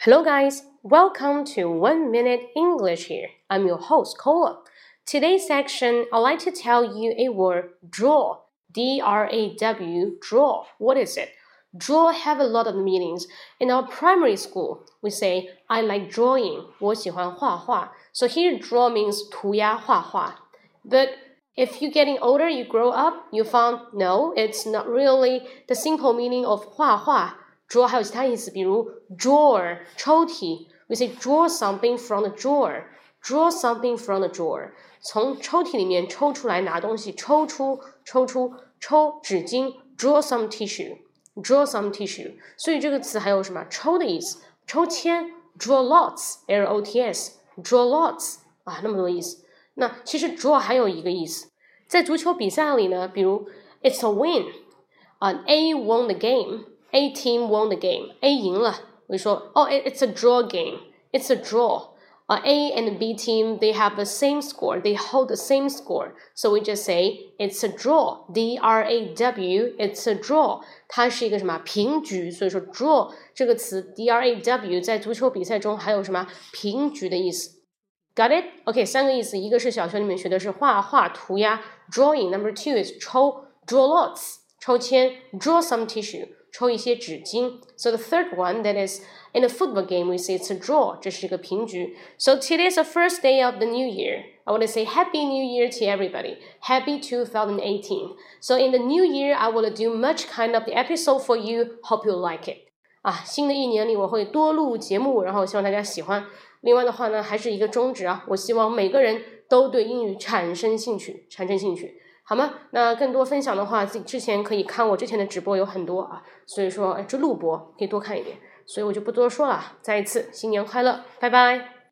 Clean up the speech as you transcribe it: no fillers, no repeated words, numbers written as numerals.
Hello guys, welcome to 1 Minute English here. I'm your host, Kola. Today's section, I'd like to tell you a word, draw. D-R-A-W, draw. What is it? Draw have a lot of meanings. In our primary school, we say, I like drawing. 我喜欢画画. So here, draw means 涂鸦画画. But if you're getting older, you grow up, you found, no, it's not really the simple meaning of 画画. Draw 还有其他意思，比如 drawer 抽屉 we say draw something from the drawer draw something from the drawer 从抽屉里面抽出来拿东西抽纸巾 draw some tissue 所以这个词还有什么抽的意思抽签 draw lots L-O-T-S draw lots 啊那么多意思那其实 draw 还有一个意思在足球比赛里呢比如 it's a win A won the game A team won the game. A 赢了。We说, it's a draw game. It's a draw. A and B team, they have the same score. They hold the same score. So we just say, it's a draw. D-R-A-W, it's a draw. 它是一个什么平局所以说 draw 这个词 D-R-A-W 在足球比赛中还有什么平局的意思 Got it? OK, 三个意思。一个是小学里面学的是画画涂鸦 drawing. Number two is 抽 draw lots 抽签 draw some tissue抽一些纸巾 So the third one, that is, in a football game, we say it's a draw. 这是一个平局 So today is the first day of the new year. I want to say Happy New Year to everybody. Happy 2018. So in the new year, I will do much kind of the episode for you. Hope you like it. 新的一年里我会多录节目，然后希望大家喜欢。另外的话呢，还是一个宗旨我希望每个人都对英语产生兴趣。好吗？那更多分享的话，自己之前可以看我之前的直播有很多所以说这录播可以多看一点，所以我就不多说了。再一次新年快乐，拜拜。